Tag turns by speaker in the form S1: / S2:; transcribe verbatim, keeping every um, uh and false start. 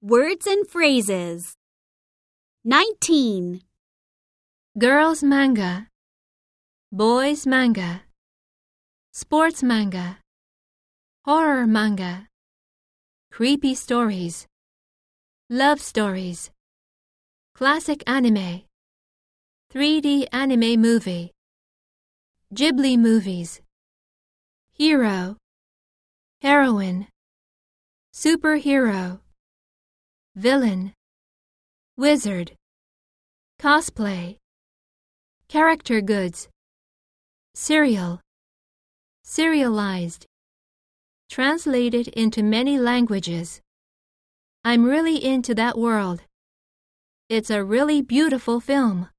S1: Words and phrases. nineteen.
S2: Girls manga, boys manga, sports manga, horror manga, creepy stories, love stories, classic anime, three D anime movie, Ghibli movies, hero, heroine, superhero, villain, wizard, cosplay, character goods, serial, serialized, translated into many languages. I'm really into that world. It's a really beautiful film.